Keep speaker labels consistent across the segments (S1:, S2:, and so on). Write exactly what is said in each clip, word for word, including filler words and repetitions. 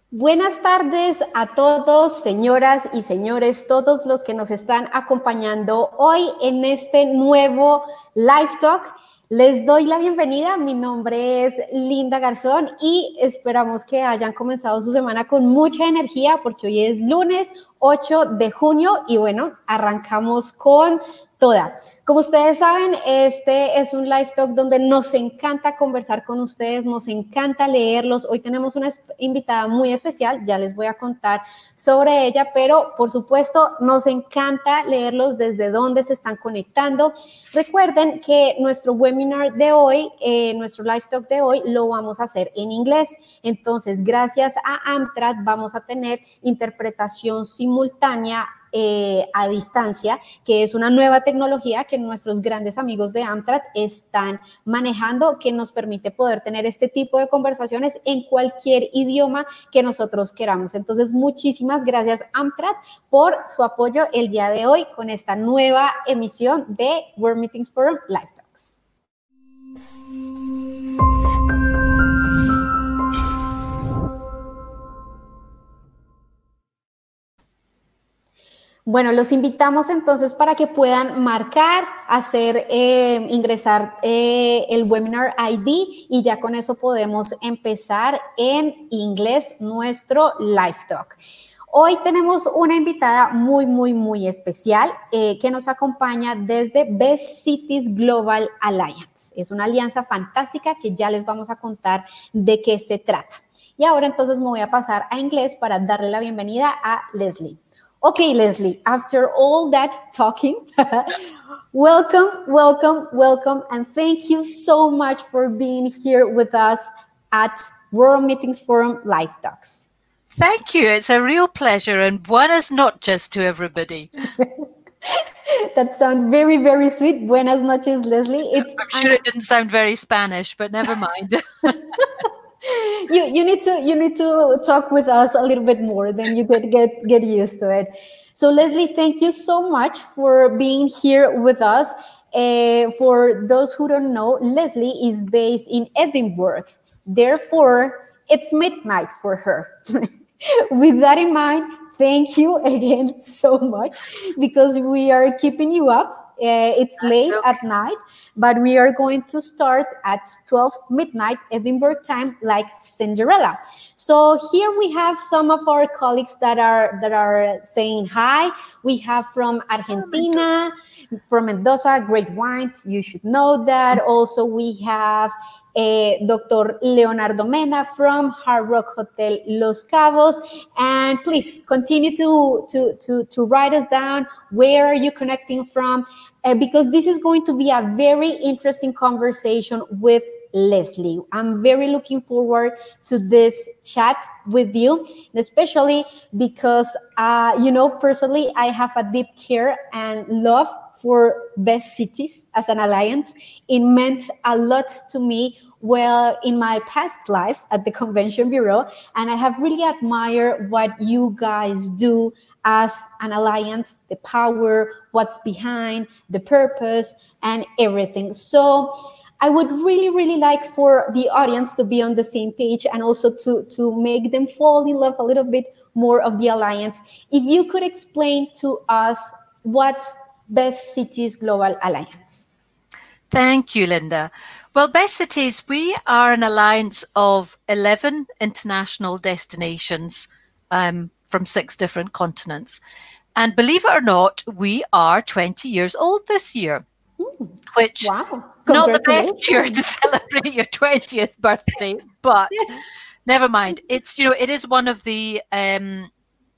S1: Buenas tardes a todos, señoras y señores, todos los que nos están acompañando hoy en este nuevo Live Talk. Les doy la bienvenida, mi nombre es Linda Garzón y esperamos que hayan comenzado su semana con mucha energía porque hoy es lunes ocho de junio y bueno, arrancamos con toda. Como ustedes saben, este es un live talk donde nos encanta conversar con ustedes, nos encanta leerlos. Hoy tenemos una invitada muy especial, ya les voy a contar sobre ella, pero por supuesto nos encanta leerlos desde dónde se están conectando. Recuerden que nuestro webinar de hoy, eh, nuestro live talk de hoy, lo vamos a hacer en inglés. Entonces, gracias a Amtrak vamos a tener interpretación simultánea Eh, a distancia, que es una nueva tecnología que nuestros grandes amigos de Amtrak están manejando, que nos permite poder tener este tipo de conversaciones en cualquier idioma que nosotros queramos. Entonces, muchísimas gracias Amtrak por su apoyo el día de hoy con esta nueva emisión de World Meetings Forum Live Talks. Bueno, los invitamos entonces para que puedan marcar, hacer, eh, ingresar eh, el webinar I D y ya con eso podemos empezar en inglés nuestro live talk. Hoy tenemos una invitada muy, muy, muy especial eh, que nos acompaña desde Best Cities Global Alliance. Es una alianza fantástica que ya les vamos a contar de qué se trata. Y ahora entonces me voy a pasar a inglés para darle la bienvenida a Leslie. Okay, Leslie, after all that talking, welcome, welcome, welcome, and thank you so much for being here with us at World Meetings Forum Live Talks.
S2: Thank you. It's a real pleasure, and buenas noches to everybody.
S1: That sounds very, very sweet. Buenas noches, Leslie.
S2: It's, I'm sure it didn't sound very Spanish, but never mind.
S1: you you need to you need to talk with us a little bit more, then you get get get used to it. So Leslie, thank you so much for being here with us. Uh, for those who don't know, Leslie is based in Edinburgh. Therefore, it's midnight for her. With that in mind, thank you again so much because we are keeping you up. Uh, it's That's late okay. at night, but we are going to start at twelve midnight Edinburgh time, like Cinderella. So here we have some of our colleagues that are that are saying hi. We have from Argentina, oh from Mendoza, great wines. You should know that. Also, we have Uh, Doctor Leonardo Mena from Hard Rock Hotel Los Cabos. And please continue to, to, to, to write us down. Where are you connecting from? Uh, because this is going to be a very interesting conversation with Leslie. I'm very looking forward to this chat with you, especially because, uh, you know, personally, I have a deep care and love for Best Cities as an alliance. It meant a lot to me well in my past life at the Convention Bureau, and I have really admired what you guys do as an alliance, the power, what's behind, the purpose, and everything. So I would really, really like for the audience to be on the same page and also to, to make them fall in love a little bit more of the alliance. If you could explain to us what's Best Cities Global Alliance.
S2: Thank you, Linda. Well, Best Cities, we are an alliance of eleven international destinations um, from six different continents. And believe it or not, we are twenty years old this year,
S1: Ooh,
S2: which
S1: wow.
S2: Not the best year to celebrate your twentieth birthday, but never mind. It's, you know, it is one of the um,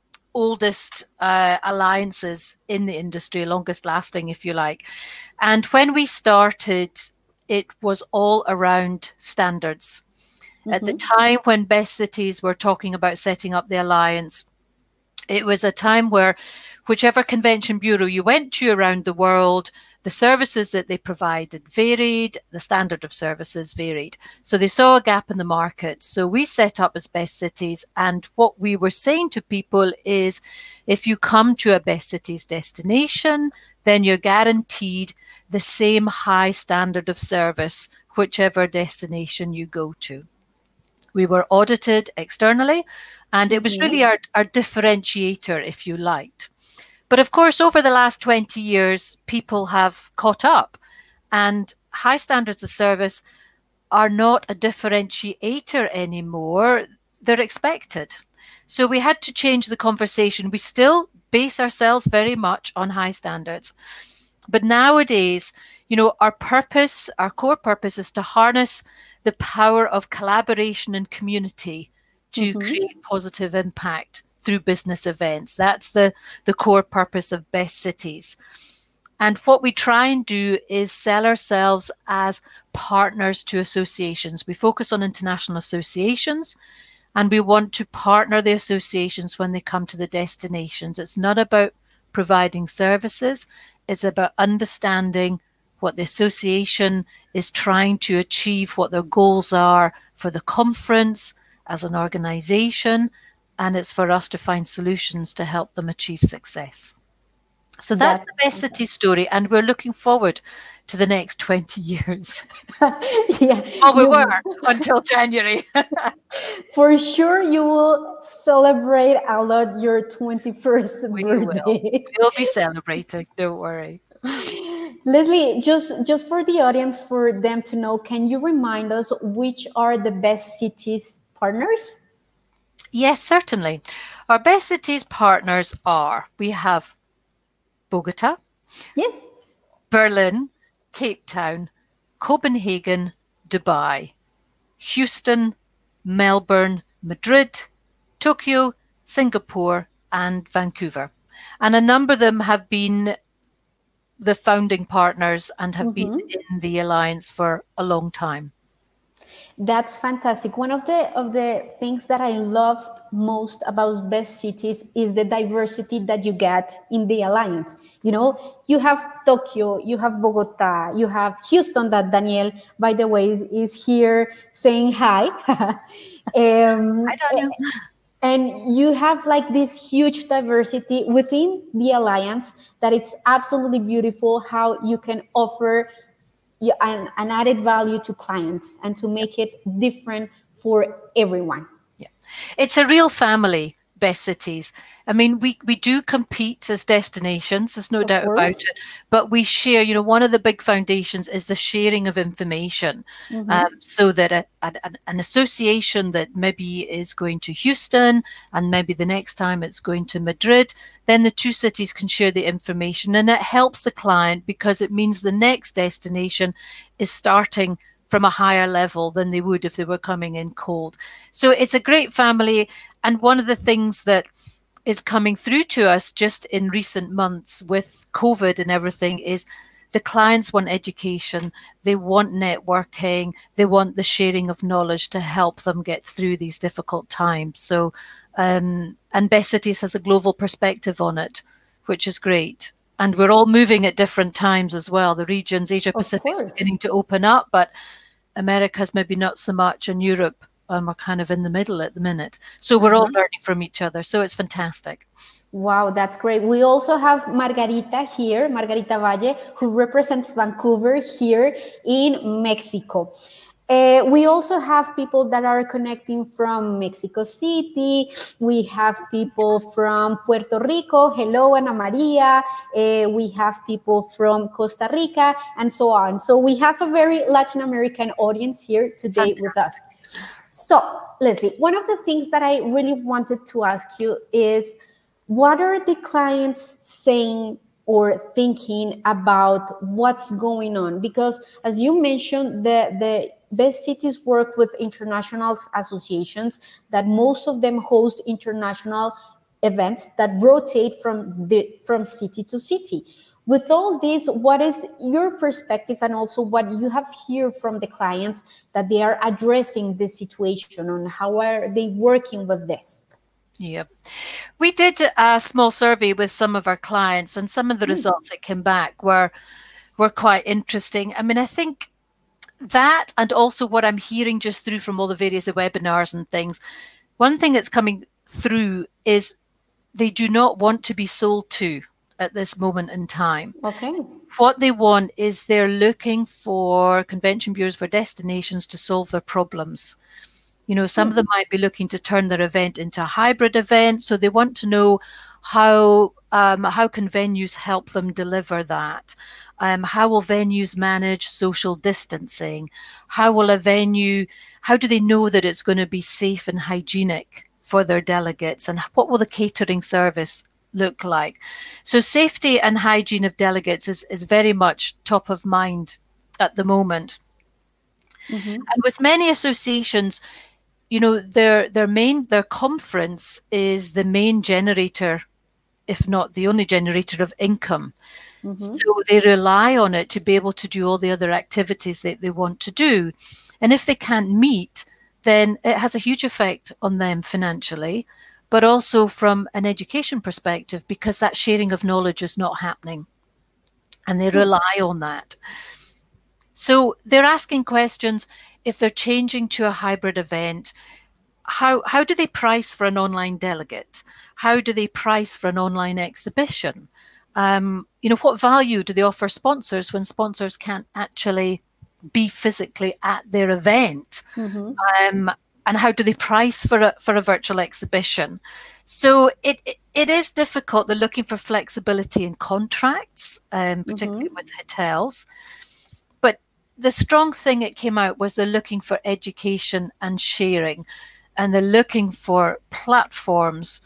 S2: oldest uh, alliances in the industry, longest lasting, if you like. And when we started, it was all around standards. Mm-hmm. At the time when Best Cities were talking about setting up the alliance, it was a time where whichever convention bureau you went to around the world, the services that they provided varied, the standard of services varied. So they saw a gap in the market. So we set up as Best Cities. And what we were saying to people is, if you come to a Best Cities destination, then you're guaranteed the same high standard of service, whichever destination you go to. We were audited externally, and it was
S1: Mhm.
S2: really our, our differentiator, if you liked. But of course, over the last twenty years, people have caught up, and high standards of service are not a differentiator anymore. They're expected. So we had to change the conversation. We still base ourselves very much on high standards. But nowadays, you know, our purpose, our core purpose is to harness the power of collaboration and community to
S1: Mhm.
S2: create positive impact through business events. That's the, the core purpose of Best Cities. And what we try and do is sell ourselves as partners to associations. We focus on international associations, and we want to partner the associations when they come to the destinations. It's not about providing services, it's about understanding what the association is trying to achieve, what their goals are for the conference as an organization, and it's for us to find solutions to help them achieve success. So that's
S1: That's
S2: the Best City story, and we're looking forward to the next twenty years.
S1: yeah.
S2: Oh, we
S1: You
S2: were until January.
S1: for sure you will celebrate a lot your twenty-first
S2: We will.
S1: birthday.
S2: We'll be celebrating, don't worry.
S1: Leslie, just just for the audience, for them to know, can you remind us which are the Best Cities partners?
S2: Yes, certainly. Our Best Cities partners are, we have Bogota,
S1: Yes.
S2: Berlin, Cape Town, Copenhagen, Dubai, Houston, Melbourne, Madrid, Tokyo, Singapore, and Vancouver. And a number of them have been the founding partners and have been
S1: Mhm.
S2: in the alliance for a long time.
S1: That's fantastic. One of the of the things that I loved most about Best Cities is the diversity that you get in the alliance. You know, you have Tokyo, you have Bogota, you have Houston. That Daniel, by the way, is, is here saying hi. um,
S2: I don't know.
S1: and you have like this huge diversity within the alliance that it's absolutely beautiful how you can offer you- an, an added value to clients and to make it different for everyone.
S2: Yeah, it's a real family, Best Cities. I mean, we, we do compete as destinations, there's no
S1: Of
S2: doubt about
S1: course.
S2: it, but we share, you know, one of the big foundations is the sharing of information.
S1: Mhm.
S2: Um, so that a, a, an association that maybe is going to Houston and maybe the next time it's going to Madrid, then the two cities can share the information, and it helps the client because it means the next destination is starting from a higher level than they would if they were coming in cold. So it's a great family. And one of the things that is coming through to us just in recent months with COVID and everything is the clients want education, they want networking, they want the sharing of knowledge to help them get through these difficult times. So, um, and Best Cities has a global perspective on it, which is great. And we're all moving at different times as well. The regions, Asia
S1: Of
S2: Pacific is
S1: course.
S2: beginning to open up, but America's maybe not so much, and Europe, um, we're kind of in the middle at the minute. So we're all
S1: Uh-huh.
S2: learning from each other. So it's fantastic.
S1: Wow, that's great. We also have Margarita here, Margarita Valle, who represents Vancouver here in Mexico. Uh, we also have people that are connecting from Mexico City. We have people from Puerto Rico. Hello, Ana Maria. Uh, we have people from Costa Rica and so on. So we have a very Latin American audience here today
S2: Fantastic.
S1: with us. So, Leslie, one of the things that I really wanted to ask you is, what are the clients saying or thinking about what's going on? Because as you mentioned, the, the Best Cities work with international associations that most of them host international events that rotate from the from city to city. With all this, what is your perspective and also what you have heard from the clients that they are addressing this situation, and how are they working with this?
S2: Yeah. We did a small survey with some of our clients, and some of the results that came back were were quite interesting. I mean, I think that, and also what I'm hearing just through from all the various webinars and things, one thing that's coming through is they do not want to be sold to at this moment in time.
S1: Okay.
S2: What they want is they're looking for convention bureaus, for destinations to solve their problems. You know, some of them might be looking to turn their event into a hybrid event. So they want to know how, um, how can venues help them deliver that? Um, how will venues manage social distancing? How will a venue, how do they know that it's going to be safe and hygienic for their delegates? And what will the catering service look like? So safety and hygiene of delegates is, is very much top of mind at the moment. Mm-hmm. And with many associations, you know, their their main their conference is the main generator, if not the only generator of income. Mm-hmm. So they rely on it to be able to do all the other activities that they want to do. And if they can't meet, then it has a huge effect on them financially, but also from an education perspective, because that sharing of knowledge is not happening. And they rely on that. So they're asking questions. If they're changing to a hybrid event, how, how do they price for an online delegate? How do they price for an online exhibition? Um, you know, what value do they offer sponsors when sponsors can't actually be physically at their event? Mm-hmm. Um, and how do they price for a, for a virtual exhibition? So it, it, it is difficult. They're looking for flexibility in contracts, um, particularly mm-hmm. with hotels. But the strong thing that came out was they're looking for education and sharing. And they're looking for platforms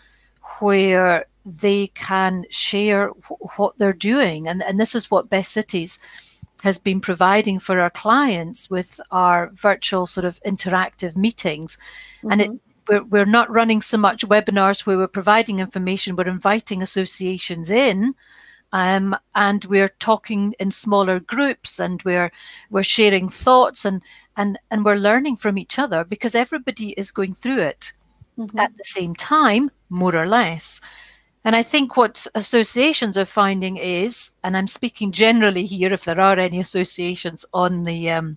S2: where they can share what they're doing. And, and this is what Best Cities has been providing for our clients with our virtual sort of interactive meetings. Mm-hmm. And it, we're, we're not running so much webinars where we're providing information, we're inviting associations in. Um, and we're talking in smaller groups, and we're we're sharing thoughts, and and and we're learning from each other, because everybody is going through it mm-hmm. at the same time, more or less. And I think what associations are finding is, and I'm speaking generally here, if there are any associations on the um,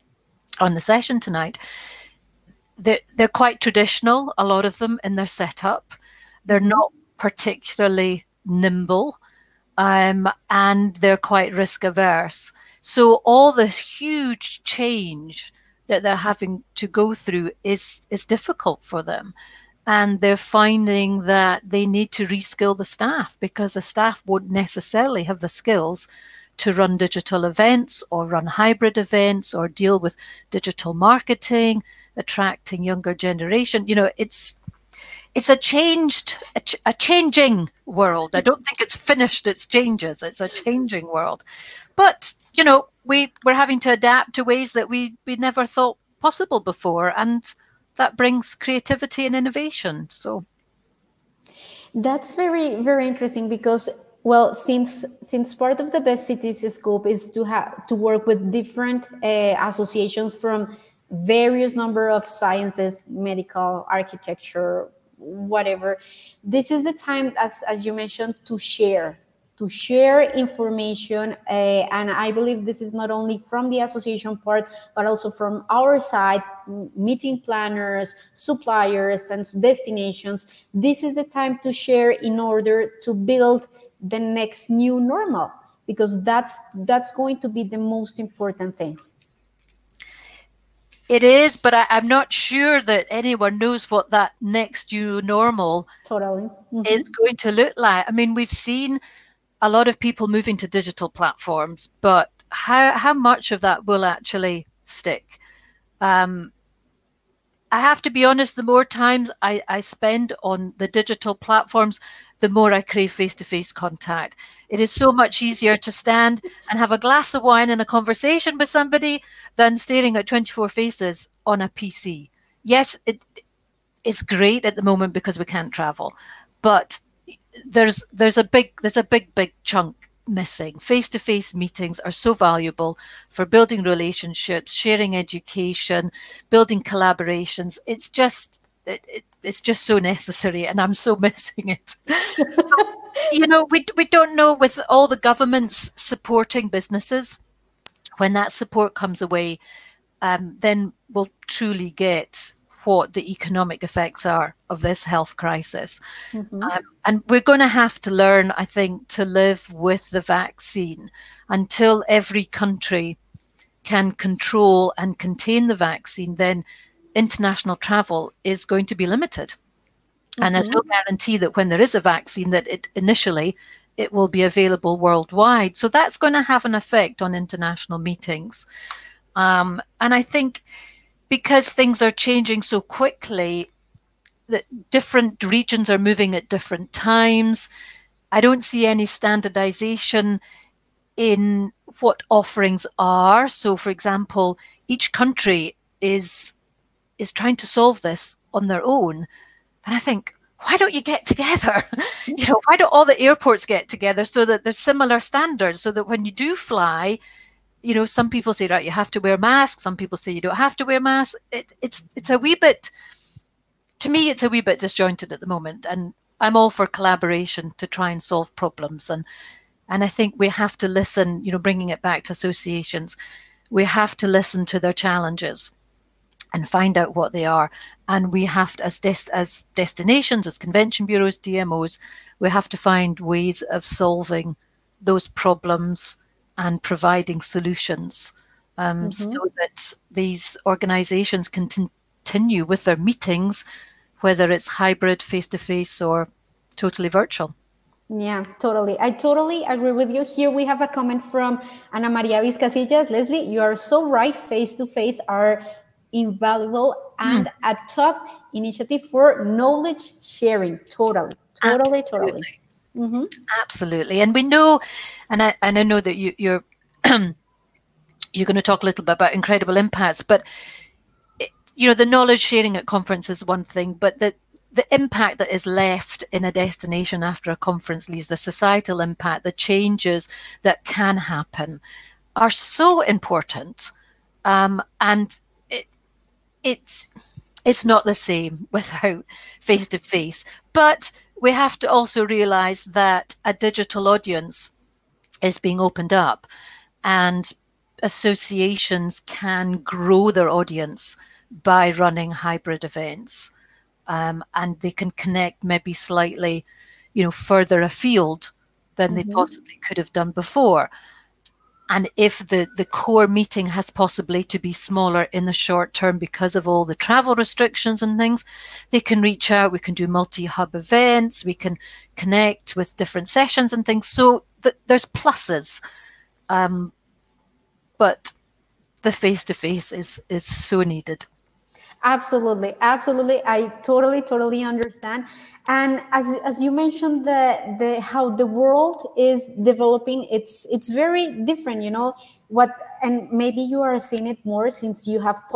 S2: on the session tonight, they're they're quite traditional, a lot of them, in their setup. They're not particularly nimble. Um, and they're quite risk averse. So all this huge change that they're having to go through is, is difficult for them. And they're finding that they need to reskill the staff, because the staff won't necessarily have the skills to run digital events or run hybrid events or deal with digital marketing, attracting younger generation. You know, it's It's a changed, a, ch a changing world. I don't think it's finished its changes. It's a changing world. But, you know, we, we're having to adapt to ways that we, we never thought possible before. And that brings creativity and innovation. So
S1: that's very, very interesting, because, well, since since part of the Best Cities scope is to have to work with different uh, associations from various number of sciences, medical, architecture, whatever, this is the time, as as you mentioned, to share to share information, uh, and I believe this is not only from the association part, but also from our side, meeting planners, suppliers, and destinations. This is the time to share in order to build the next new normal, because that's that's going to be the most important thing.
S2: It is, but I, I'm not sure that anyone knows what that next new normal
S1: totally mm-hmm.
S2: is going to look like. I mean, we've seen a lot of people moving to digital platforms, but how, how much of that will actually stick? Um, I have to be honest, the more times I, I spend on the digital platforms, the more I crave face-to-face contact. It is so much easier to stand and have a glass of wine and a conversation with somebody than staring at twenty-four faces on a P C. Yes, it, it's great at the moment because we can't travel, but there's there's a big there's a big big chunk missing. Face-to-face meetings are so valuable for building relationships, sharing education, building collaborations. It's just it, it, it's just so necessary, and I'm so missing it. You know, we we don't know, with all the governments supporting businesses, when that support comes away, um, then we'll truly get what the economic effects are of this health crisis. Mm-hmm. um, and we're going to have to learn, I think, to live with the vaccine until every country can control and contain the vaccine. Then international travel is going to be limited. Mm-hmm. And there's no guarantee that when there is a vaccine that it initially it will be available worldwide. So that's going to have an effect on international meetings. Um, and I think because things are changing so quickly, that different regions are moving at different times, I don't see any standardization in what offerings are. So, for example, each country is is trying to solve this on their own. And I think, why don't you get together? You know, why don't all the airports get together so that there's similar standards, so that when you do fly, you know, some people say, right, you have to wear masks. Some people say you don't have to wear masks. It, it's it's a wee bit, to me, it's a wee bit disjointed at the moment. And I'm all for collaboration to try and solve problems. And and I think we have to listen, you know, bringing it back to associations, we have to listen to their challenges and find out what they are. And we have to, as, des- as destinations, as convention bureaus, D M Os, we have to find ways of solving those problems and providing solutions um, mm-hmm. so that these organizations can t- continue with their meetings, whether it's hybrid, face-to-face, or totally virtual.
S1: Yeah, totally. I totally agree with you. Here we have a comment from Ana Maria Vizcasillas. Leslie, you are so right. Face-to-face are invaluable and mm. a top initiative for knowledge sharing. Totally, totally,
S2: Absolutely.
S1: totally. Mm-hmm.
S2: Absolutely. And we know, and I, and I know that you, you're you're going to talk a little bit about incredible impacts, but it, you know, the knowledge sharing at conference is one thing, but the the impact that is left in a destination after a conference leaves, the societal impact, the changes that can happen are so important. Um, and it, it's, it's not the same without face-to-face. But we have to also realize that a digital audience is being opened up, and associations can grow their audience by running hybrid events. Um, and they can connect maybe slightly, you know, further afield than mm-hmm. they possibly could have done before. And if the, the core meeting has possibly to be smaller in the short term because of all the travel restrictions and things, they can reach out. We can do multi-hub events. We can connect with different sessions and things. So th- there's pluses. Um, but the face-to-face is is so needed.
S1: Absolutely, absolutely. I totally, totally understand. And as as you mentioned, the the how the world is developing, it's it's very different. You know what, and maybe you are seeing it more since you have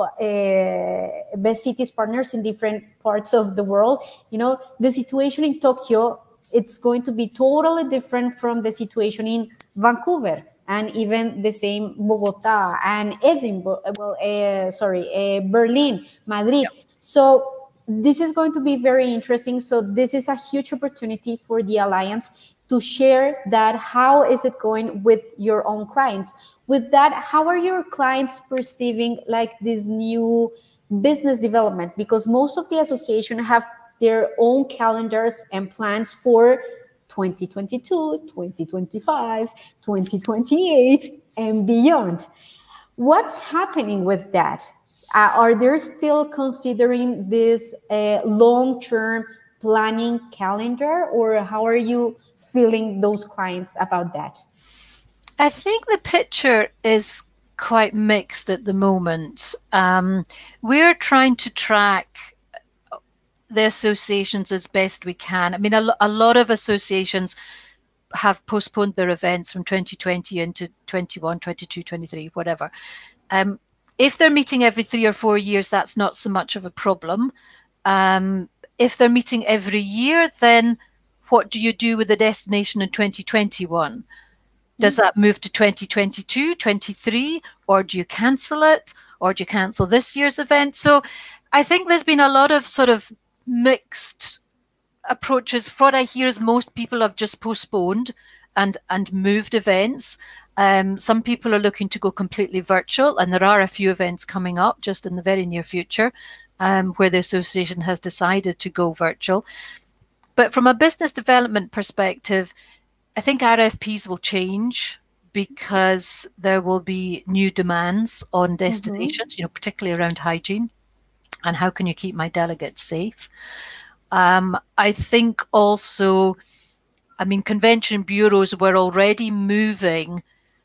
S1: uh, Best Cities partners in different parts of the world. You know, the situation in Tokyo, it's going to be totally different from the situation in Vancouver. And even the same Bogota and Edinburgh, well, uh, sorry, uh, Berlin, Madrid. Yep. So this is going to be very interesting. So this is a huge opportunity for the Alliance to share that. How is it going with your own clients? With that, how are your clients perceiving like this new business development? Because most of the association have their own calendars and plans for twenty twenty-two, twenty twenty-five, twenty twenty-eight, and beyond. What's happening with that? Uh, are they still considering this uh, long-term planning calendar, or how are you feeling those clients about that?
S2: I think the picture is quite mixed at the moment. Um, we're trying to track the associations as best we can. I mean, a, a lot of associations have postponed their events from twenty twenty into twenty-one, twenty-two, twenty-three, whatever. Um, if they're meeting every three or four years, that's not so much of a problem. Um, if they're meeting every year, then what do you do with the destination in twenty twenty-one? Does that move to twenty twenty-two, twenty-three, or do you cancel it, or do you cancel this year's event? So I think there's been a lot of sort of mixed approaches. What I hear is most people have just postponed and and moved events. Um, some people are looking to go completely virtual, and there are a few events coming up just in the very near future um, where the association has decided to go virtual. But from a business development perspective, I think R F Ps will change because there will be new demands on destinations, mm-hmm. you know, particularly around hygiene. and how can you keep my delegates safe? Um, I think also, I mean, convention bureaus were already moving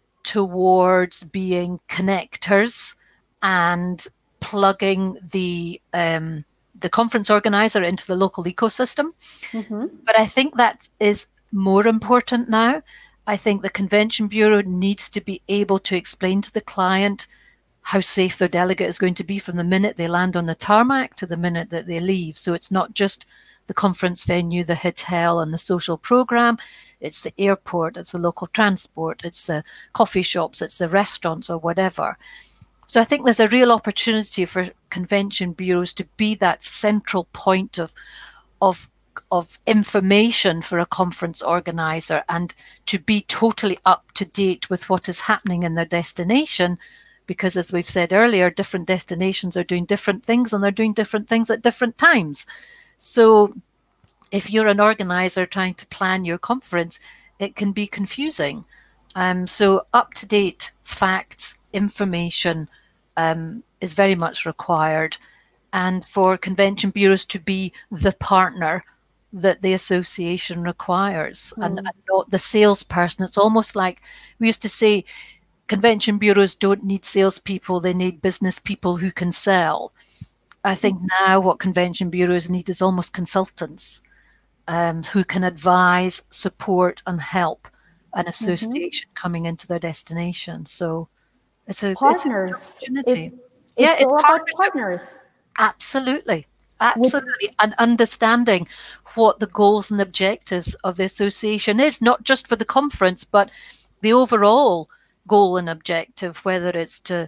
S2: towards being connectors and plugging the um, the conference organizer into the local ecosystem. Mm-hmm. But I think that is more important now. I think the convention bureau needs to be able to explain to the client how safe their delegate is going to be from the minute they land on the tarmac to the minute that they leave. So it's not just the conference venue, the hotel, and the social program. It's the airport, it's the local transport, it's the coffee shops, it's the restaurants or whatever. So I think there's a real opportunity for convention bureaus to be that central point of, of, of information for a conference organizer, and to be totally up to date with what is happening in their destination. Because as we've said earlier, different destinations are doing different things, and they're doing different things at different times. So if you're an organizer trying to plan your conference, it can be confusing. Um, so up-to-date facts, information um, is very much required. And for convention bureaus to be the partner that the association requires, mm. and, and not the salesperson. It's almost like we used to say, convention bureaus don't need salespeople, they need business people who can sell. I think now what convention bureaus need is almost consultants um, who can advise, support, and help an association mm-hmm. coming into their destination. So it's a
S1: partners.
S2: It's an opportunity.
S1: It, it's yeah, it's all about partners.
S2: Absolutely. Absolutely. With- and understanding what the goals and objectives of the association is, not just for the conference, but the overall goal and objective, whether it's to,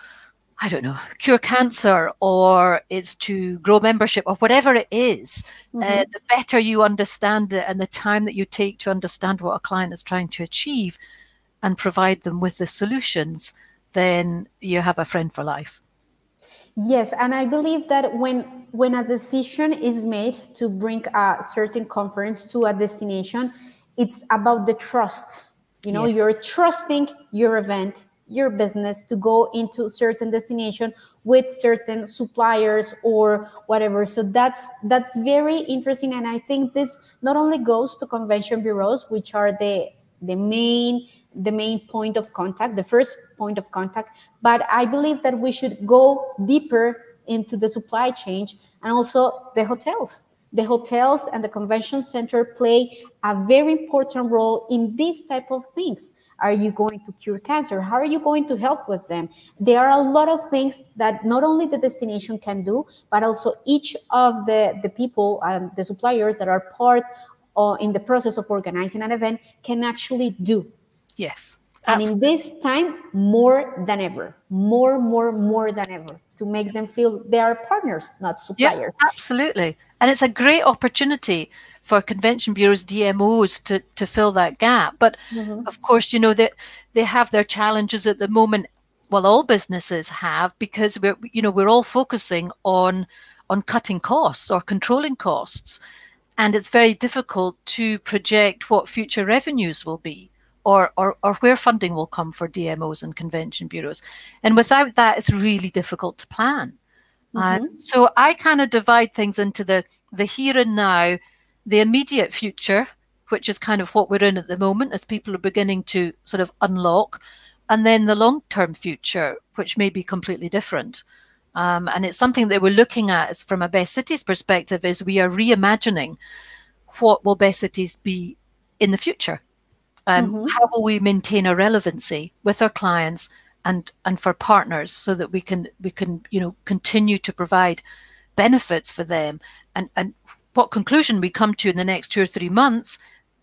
S2: I don't know, cure cancer, or it's to grow membership, or whatever it is. Mm-hmm. uh, the better you understand it, and the time that you take to understand what a client is trying to achieve and provide them with the solutions, then you have a friend for life.
S1: Yes, and I believe that when when a decision is made to bring a certain conference to a destination, it's about the trust. You know, yes. You're trusting your event, your business, to go into certain destination with certain suppliers or whatever. So that's that's very interesting. And I think this not only goes to convention bureaus, which are the the main the main point of contact, the first point of contact, but I believe that we should go deeper into the supply chain, and also the hotels. The hotels and the convention center play a very important role in these type of things. Are you going to cure cancer? How are you going to help with them? There are a lot of things that not only the destination can do, but also each of the, the people and the suppliers that are part or in the process of organizing an event can actually do.
S2: Yes.
S1: And in this time, more than ever, more, more, more than ever, to make them feel they are partners, not suppliers.
S2: Yeah, absolutely. And it's a great opportunity for convention bureaus, D M Os, to, to fill that gap. But mm-hmm. of course, you know, that they, they have their challenges at the moment. Well, all businesses have, because we're, you know, we're all focusing on on cutting costs or controlling costs. And it's very difficult to project what future revenues will be. Or, or or where funding will come for D M Os and convention bureaus. And without that, it's really difficult to plan. Mm-hmm. Uh, so I kind of divide things into the, the here and now, the immediate future, which is kind of what we're in at the moment as people are beginning to sort of unlock, and then the long-term future, which may be completely different. Um, and it's something that we're looking at is from a Best Cities perspective, is we are reimagining what will Best Cities be in the future. Um, mm-hmm. How will we maintain our relevancy with our clients and and for partners, so that we can we can you know continue to provide benefits for them, and and what conclusion we come to in the next two or three months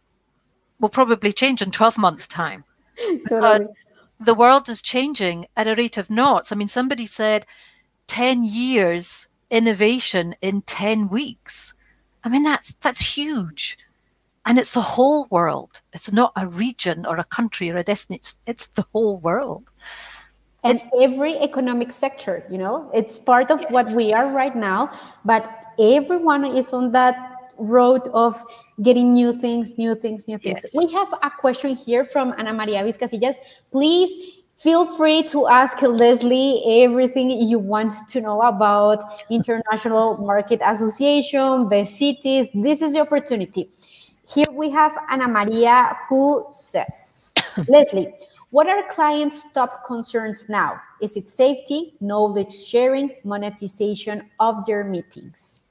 S2: will probably change in twelve months' time.
S1: Totally.
S2: Because the world is changing at a rate of knots. I mean, somebody said ten years innovation in ten weeks. I mean, that's that's huge. And it's the whole world. It's not a region or a country or a destination. It's, it's the whole world.
S1: And
S2: it's,
S1: every economic sector, you know, it's part of yes. what we are right now. But everyone is on that road of getting new things, new things, new things. Yes. We have a question here from Ana Maria Vizcasillas. Please Feel free to ask Leslie everything you want to know about International Market Association, best cities. This is the opportunity. Here we have Ana Maria who says, Leslie, what are clients' top concerns now? Is it safety, knowledge sharing, monetization of their meetings?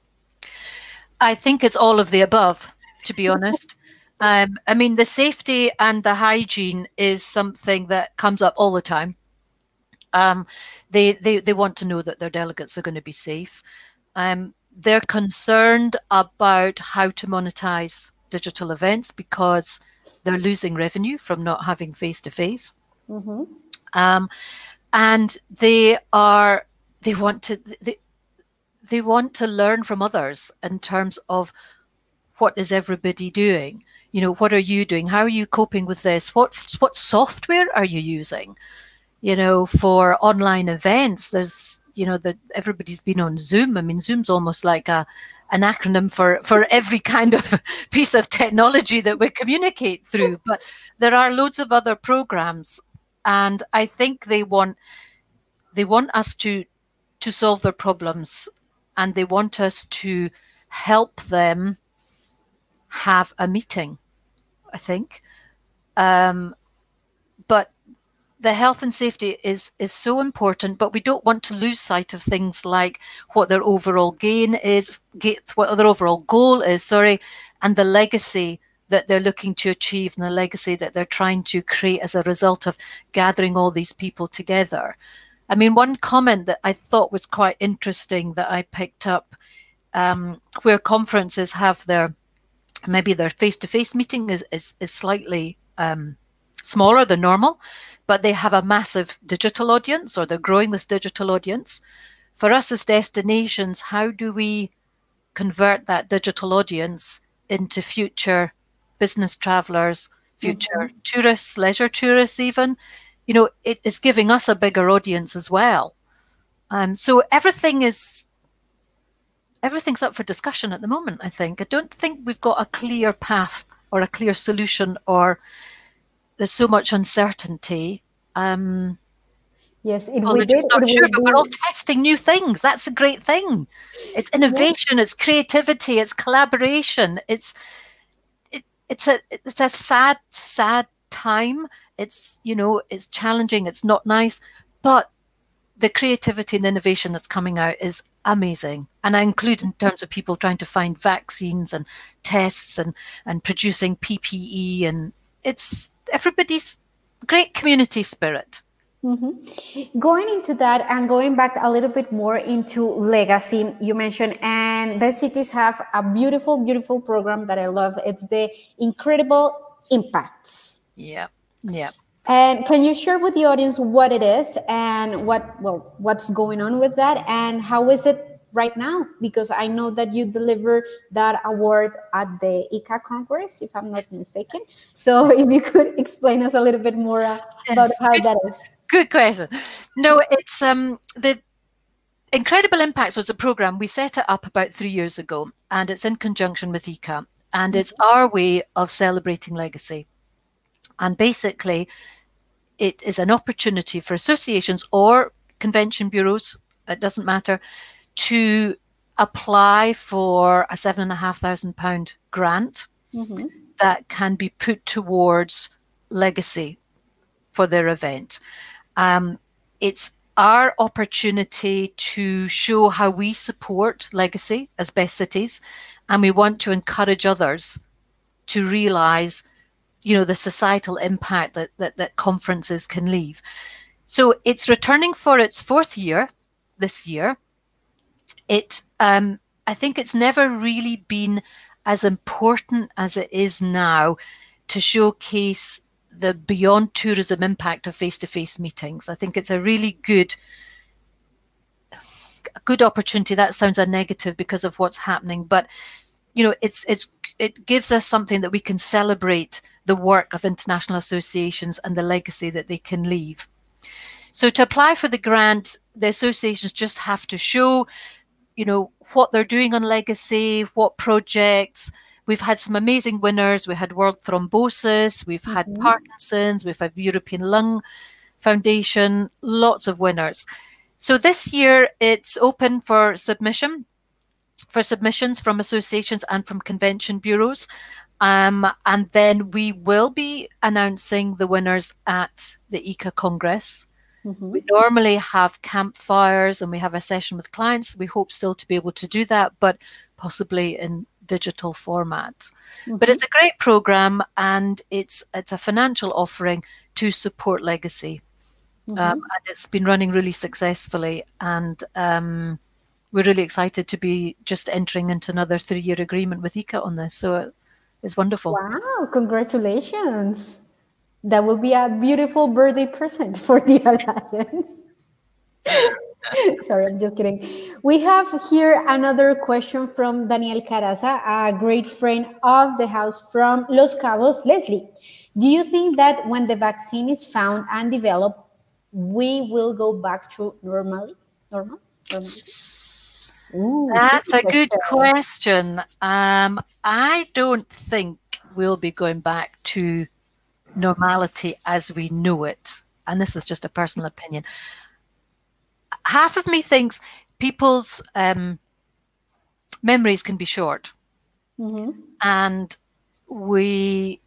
S2: I think it's all of the above, to be honest. Um, I mean, the safety and the hygiene is something that comes up all the time. Um, they, they, they want to know that their delegates are going to be safe. Um, they're concerned about how to monetize digital events because they're losing revenue from not having face-to-face.
S1: Mm-hmm.
S2: Um, and they are, they want to, they, they want to learn from others in terms of what is everybody doing? You know, what are you doing? How are you coping with this? What what software are you using? You know, for online events, there's, you know, that everybody's been on Zoom. I mean, Zoom's almost like a an acronym for for every kind of piece of technology that we communicate through. But there are loads of other programs, and I think they want they want us to to solve their problems, and they want us to help them have a meeting, I think. Um, but the health and safety is is so important, but we don't want to lose sight of things like what their overall gain is, what their overall goal is, sorry, and the legacy that they're looking to achieve and the legacy that they're trying to create as a result of gathering all these people together. I mean, one comment that I thought was quite interesting that I picked up, um, where conferences have their maybe their face-to-face meeting is, is, is slightly um, smaller than normal, but they have a massive digital audience, or they're growing this digital audience. For us as destinations, how do we convert that digital audience into future business travelers, future mm-hmm. tourists, leisure tourists even? You know, it is giving us a bigger audience as well. Um, so everything is Everything's up for discussion at the moment, I think. I don't think we've got a clear path or a clear solution, or there's so much uncertainty. Um,
S1: yes, it
S2: well, we're just not sure, but we're all testing new things. That's a great thing. It's innovation, yes. It's creativity, it's collaboration. It's it, it's a it's a sad, sad time. It's, you know, it's challenging, it's not nice, but the creativity and innovation that's coming out is amazing. And I include in terms of people trying to find vaccines and tests and, and producing P P E. And it's everybody's great community spirit.
S1: Mm-hmm. Going into that and going back a little bit more into legacy, you mentioned, and Best Cities have a beautiful, beautiful program that I love. It's the Incredible Impacts.
S2: Yeah, yeah.
S1: And can you share with the audience what it is and what, well, what's going on with that and how is it right now? Because I know that you deliver that award at the I C A Congress, if I'm not mistaken. So if you could explain us a little bit more uh, about
S2: yes,
S1: how
S2: good,
S1: that is.
S2: Good question. No, it's um the Incredible Impacts was a program. We set it up about three years ago, and it's in conjunction with I C A, and it's our way of celebrating legacy. And basically, it is an opportunity for associations or convention bureaus, it doesn't matter, to apply for a seven and a half thousand pound grant mm-hmm. that can be put towards legacy for their event. Um, it's our opportunity to show how we support legacy as Best Cities, and we want to encourage others to realise, you know, the societal impact that, that, that conferences can leave. So it's returning for its fourth year this year. It, um, I think it's never really been as important as it is now to showcase the beyond tourism impact of face-to-face meetings. I think it's a really good, a good opportunity. That sounds a negative because of what's happening, but you know, it's it's it gives us something that we can celebrate the work of international associations and the legacy that they can leave. So to apply for the grant, the associations just have to show, you know, what they're doing on legacy, what projects. We've had some amazing winners. We had World Thrombosis, we've had mm-hmm. Parkinson's, we've had European Lung foundation, lots of winners. So this year it's open for submission, for submissions from associations and from convention bureaus. Um, and then we will be announcing the winners at the I C A Congress. Mm-hmm. We normally have campfires and we have a session with clients. We hope still to be able to do that, but possibly in digital format. Mm-hmm. But it's a great program, and it's it's a financial offering to support legacy. Mm-hmm. um, and it's been running really successfully, and um, we're really excited to be just entering into another three-year agreement with I C A on this. So it's wonderful.
S1: Wow, congratulations. That will be a beautiful birthday present for the Alliance. Sorry, I'm just kidding. We have here another question from Daniel Caraza, a great friend of the house from Los Cabos. Leslie, do you think that when the vaccine is found and developed, we will go back to normally? Normal? Normal?
S2: Ooh, that's a good question. Um, I don't think we'll be going back to normality as we know it. And this is just a personal opinion. Half of me thinks people's um, memories can be short. Mm-hmm. And we,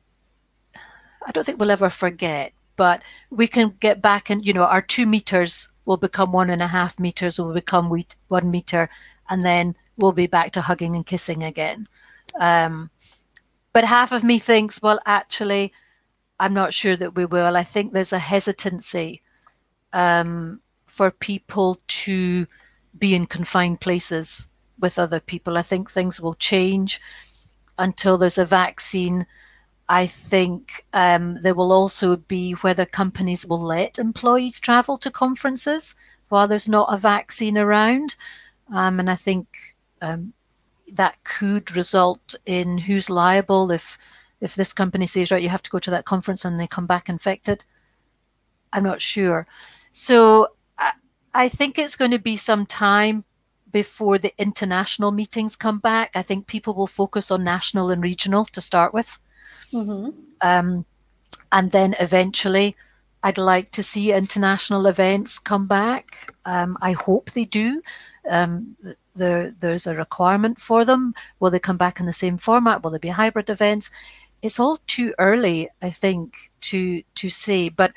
S2: I don't think we'll ever forget, but we can get back and, you know, our two meters will become one and a half meters, will become one meter, and then we'll be back to hugging and kissing again. Um, but half of me thinks, well, actually, I'm not sure that we will. I think there's a hesitancy um, for people to be in confined places with other people. I think things will change until there's a vaccine. I think um, there will also be whether companies will let employees travel to conferences while there's not a vaccine around. Um, and I think um, that could result in who's liable if if this company says, right, you have to go to that conference and they come back infected. I'm not sure. So I, I think it's going to be some time before the international meetings come back. I think people will focus on national and regional to start with. Mm-hmm. Um, and then eventually I'd like to see international events come back. Um, I hope they do. Um, the, there's a requirement for them. Will they come back in the same format? Will there be hybrid events? It's all too early, I think, to to say. But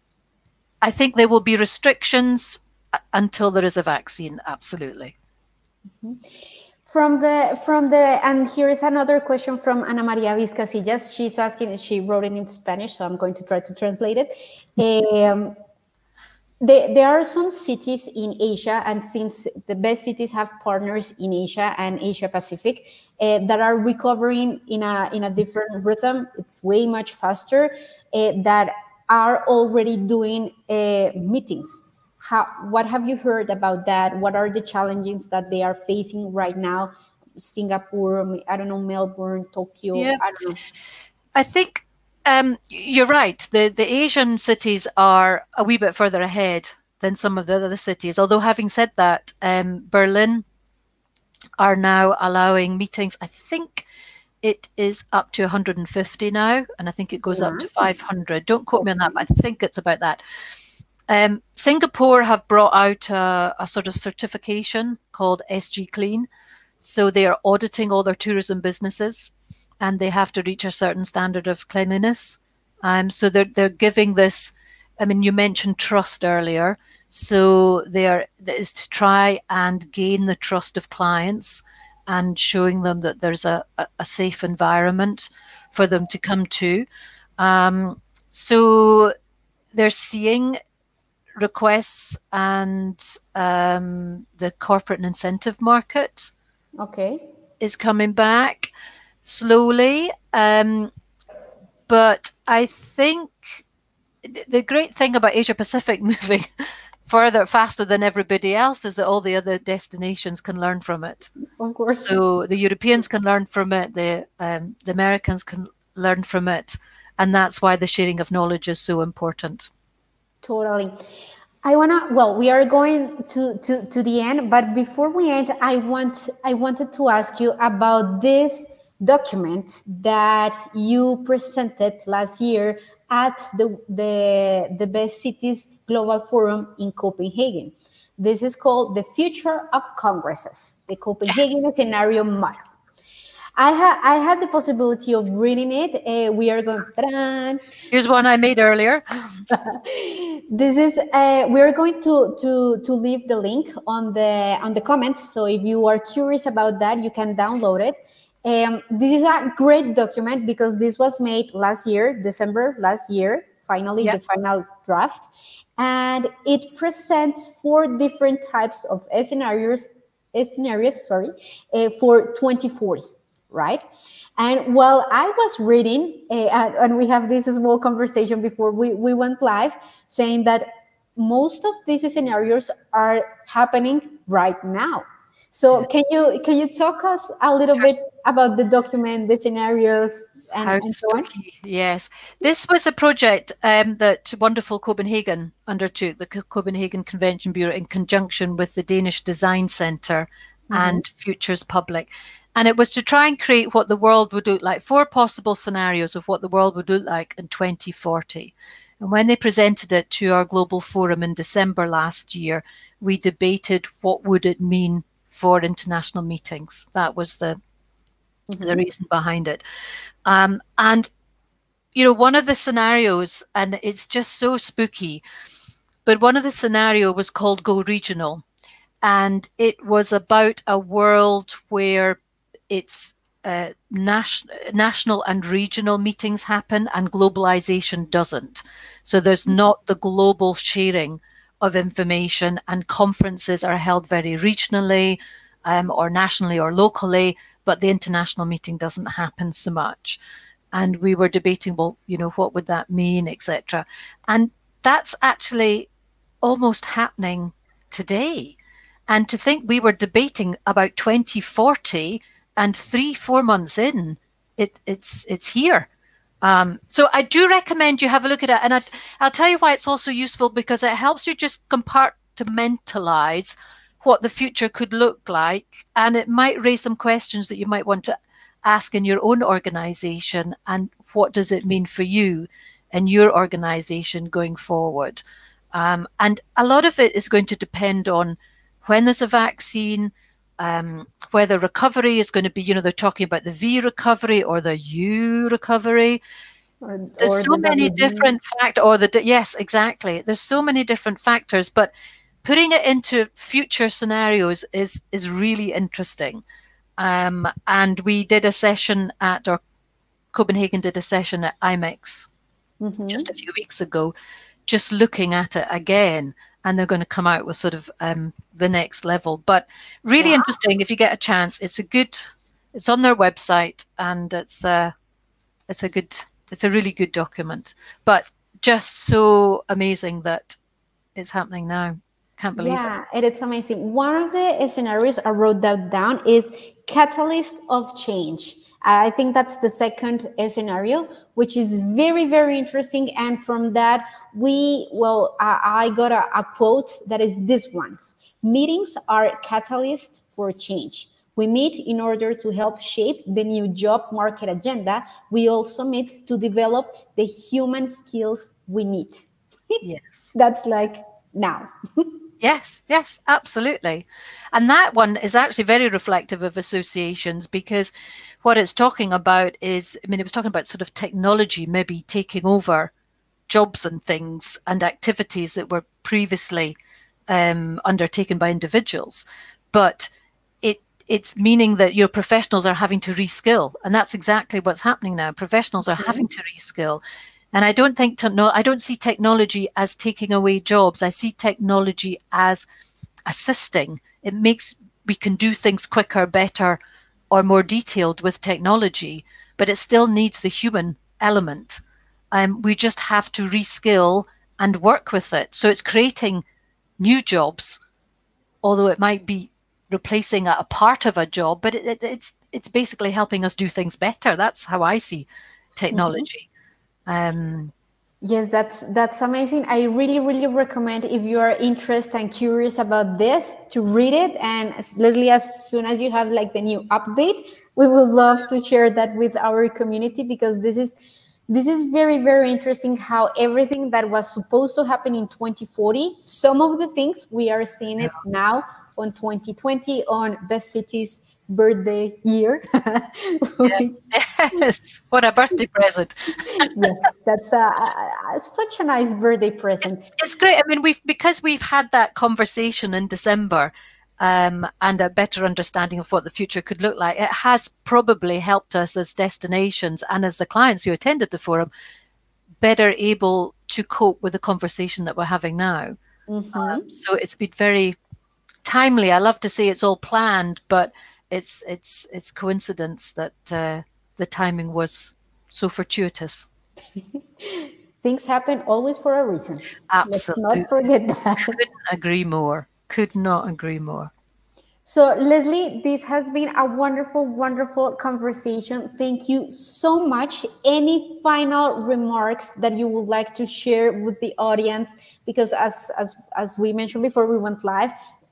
S2: I think there will be restrictions until there is a vaccine. Absolutely.
S1: Mm-hmm. From the from the and here is another question from Ana Maria Vizcasillas. She's asking, she wrote it in Spanish, so I'm going to try to translate it. Um, there, there are some cities in Asia, and since the best cities have partners in Asia and Asia Pacific, uh, that are recovering in a in a different rhythm. It's way much faster. Uh, that are already doing uh, meetings. How, what have you heard about that? What are the challenges that they are facing right now? Singapore, I don't know, Melbourne, Tokyo, yeah. I don't know.
S2: I think um, you're right. The, the Asian cities are a wee bit further ahead than some of the other cities. Although having said that, um, Berlin are now allowing meetings. I think it is up to one hundred fifty now, and I think it goes yeah. up to five hundred. Don't quote me on that, but I think it's about that. Um, Singapore have brought out a, a sort of certification called S G Clean. So they are auditing all their tourism businesses, and they have to reach a certain standard of cleanliness. Um, so they're, they're giving this, I mean, you mentioned trust earlier. So they are, that is to try and gain the trust of clients and showing them that there's a, a, a safe environment for them to come to. Um, so they're seeing requests, and um, the corporate and incentive market
S1: okay.
S2: is coming back slowly. Um, but I think the great thing about Asia Pacific moving further, faster than everybody else is that all the other destinations can learn from it.
S1: Of course.
S2: So the Europeans can learn from it, the, um, the Americans can learn from it. And that's why the sharing of knowledge is so important.
S1: Totally. I wanna. Well, we are going to, to to the end, but before we end, I want I wanted to ask you about this document that you presented last year at the, the, the Best Cities Global Forum in Copenhagen. This is called The Future of Congresses, the Copenhagen yes. Scenario Model. I, ha I had the possibility of reading it. Uh, we are going...
S2: Here's one I made earlier.
S1: This is, uh, we're going to, to, to leave the link on the, on the comments. So if you are curious about that, you can download it. Um, this is a great document because this was made last year, December last year, finally yep. the final draft. And it presents four different types of scenarios, scenarios sorry, uh, for twenty forty, right? And while I was reading, uh, and we have this small conversation before we, we went live, saying that most of these scenarios are happening right now. So can you can you talk us a little bit about the document, the scenarios, and, and so on?
S2: Yes, this was a project um, that Wonderful Copenhagen undertook, the Copenhagen Convention Bureau, in conjunction with the Danish Design Centre mm-hmm. and Futures Public. And it was to try and create what the world would look like, four possible scenarios of what the world would look like in twenty forty. And when they presented it to our global forum in December last year, we debated what would it mean for international meetings. That was the mm-hmm. the reason behind it. Um, and, you know, one of the scenarios, and it's just so spooky, but one of the scenario was called Go Regional. And it was about a world where it's uh, nas national and regional meetings happen and globalization doesn't. So there's not the global sharing of information, and conferences are held very regionally um, or nationally or locally, but the international meeting doesn't happen so much. And we were debating, well, you know, what would that mean, et cetera. And that's actually almost happening today. And to think we were debating about twenty forty, and three, four months in, it, it's it's here. Um, so I do recommend you have a look at it. And I, I'll tell you why it's also useful, because it helps you just compartmentalize what the future could look like. And it might raise some questions that you might want to ask in your own organization. And what does it mean for you and your organization going forward? Um, and a lot of it is going to depend on when there's a vaccine, um, whether recovery is going to be, you know, they're talking about the V recovery or the U recovery. Or, There's or so the many W V. Different factors, or the, yes, exactly. There's so many different factors, but putting it into future scenarios is, is really interesting. Um, and we did a session at, or Copenhagen did a session at I MEX mm-hmm. just a few weeks ago, just looking at it again. And they're going to come out with sort of um, the next level. But really wow. interesting. If you get a chance, it's a good. It's on their website, and it's a, it's a good. It's a really good document. But just so amazing that it's happening now. Can't believe
S1: yeah,
S2: it.
S1: Yeah, it's amazing. One of the scenarios I wrote that down is catalyst of change. I think that's the second scenario, which is very, very interesting. And from that, we, well, I, I got a, a quote that is this one's. Meetings are catalysts for change. We meet in order to help shape the new job market agenda. We also meet to develop the human skills we need.
S2: Yes.
S1: That's like now.
S2: Yes, yes, absolutely. And that one is actually very reflective of associations, because what it's talking about is, I mean, it was talking about sort of technology maybe taking over jobs and things and activities that were previously um, undertaken by individuals. But it it's meaning that your professionals are having to reskill. And that's exactly what's happening now. Professionals are mm-hmm. having to reskill. And I don't think to, no, I don't see technology as taking away jobs. I see technology as assisting. It makes, we can do things quicker, better, or more detailed with technology, but it still needs the human element. Um, we just have to reskill and work with it. So it's creating new jobs, although it might be replacing a, a part of a job, but it, it, it's it's basically helping us do things better. That's how I see technology. Mm-hmm. Um,
S1: yes, that's that's amazing. I really, really recommend, if you are interested and curious about this, to read it. And Leslie, as soon as you have like the new update, we would love to share that with our community, because this is This is very, very interesting how everything that was supposed to happen in twenty forty, some of the things we are seeing it now on twenty twenty, on Best City's birthday year.
S2: Yes, what a birthday present.
S1: Yes, that's a, a, such a nice birthday present.
S2: It's, it's great. I mean, we've because we've had that conversation in December um, and a better understanding of what the future could look like, it has probably helped us as destinations and as the clients who attended the forum better able to cope with the conversation that we're having now. Mm-hmm. Um, so it's been very timely. I love to say it's all planned, but it's it's it's coincidence that uh, the timing was so fortuitous.
S1: Things happen always for a reason.
S2: Absolutely.
S1: Let's not forget that.
S2: Couldn't agree more. Could not agree more.
S1: So, Leslie, this has been a wonderful, wonderful conversation. Thank you so much. Any final remarks that you would like to share with the audience? Because as as as we mentioned before we went live,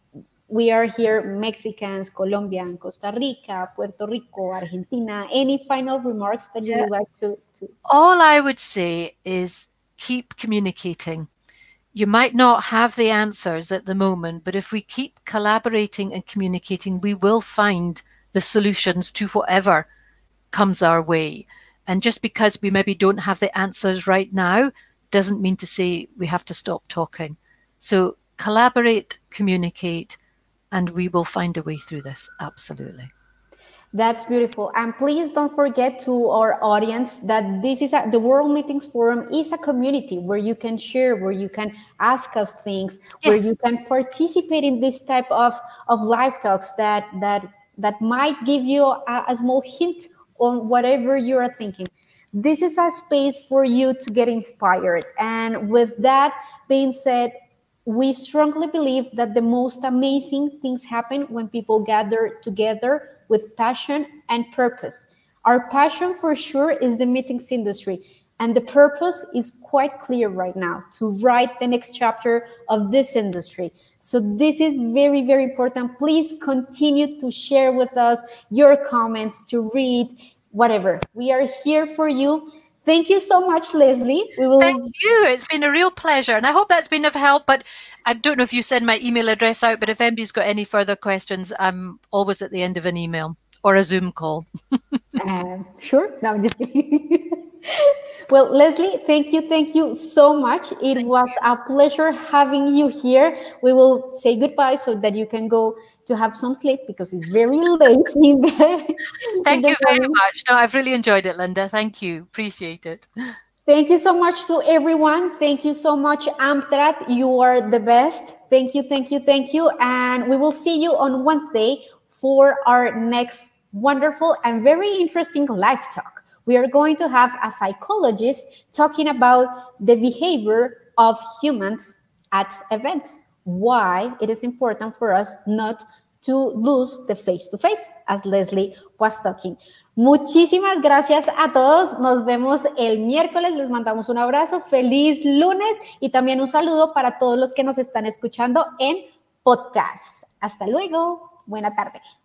S1: we are here, Mexicans, Colombian, Costa Rica, Puerto Rico, Argentina. Any final remarks that you yeah. would like to, to?
S2: All I would say is keep communicating. You might not have the answers at the moment, but if we keep collaborating and communicating, we will find the solutions to whatever comes our way. And just because we maybe don't have the answers right now, doesn't mean to say we have to stop talking. So collaborate, communicate, and we will find a way through this. Absolutely.
S1: That's beautiful. And please don't forget to our audience that this is a, the World Meetings Forum is a community where you can share, where you can ask us things, yes. where you can participate in this type of, of live talks that, that, that might give you a, a small hint on whatever you are thinking. This is a space for you to get inspired. And with that being said, we strongly believe that the most amazing things happen when people gather together with passion and purpose. Our passion for sure is the meetings industry, and the purpose is quite clear right now, to write the next chapter of this industry. So this is very, very important. Please continue to share with us your comments, to read, whatever. We are here for you. Thank you so much, Leslie.
S2: We will... Thank you. It's been a real pleasure. And I hope that's been of help. But I don't know if you send my email address out, but if anybody's got any further questions, I'm always at the end of an email or a Zoom call.
S1: uh, sure. No, I'm just kidding. Well, Leslie, thank you. Thank you so much. It thank was you. a pleasure having you here. We will say goodbye so that you can go to have some sleep because it's very late in the
S2: Thank
S1: in the
S2: you very morning. much. No, I've really enjoyed it, Linda. Thank you. Appreciate it.
S1: Thank you so much to everyone. Thank you so much, Amtrak. You are the best. Thank you, thank you, thank you. And we will see you on Wednesday for our next wonderful and very interesting live talk. We are going to have a psychologist talking about the behavior of humans at events, why it is important for us not to lose the face-to-face, as Leslie was talking. Muchísimas gracias a todos. Nos vemos el miércoles. Les mandamos un abrazo. Feliz lunes y también un saludo para todos los que nos están escuchando en podcast. Hasta luego. Buena tarde.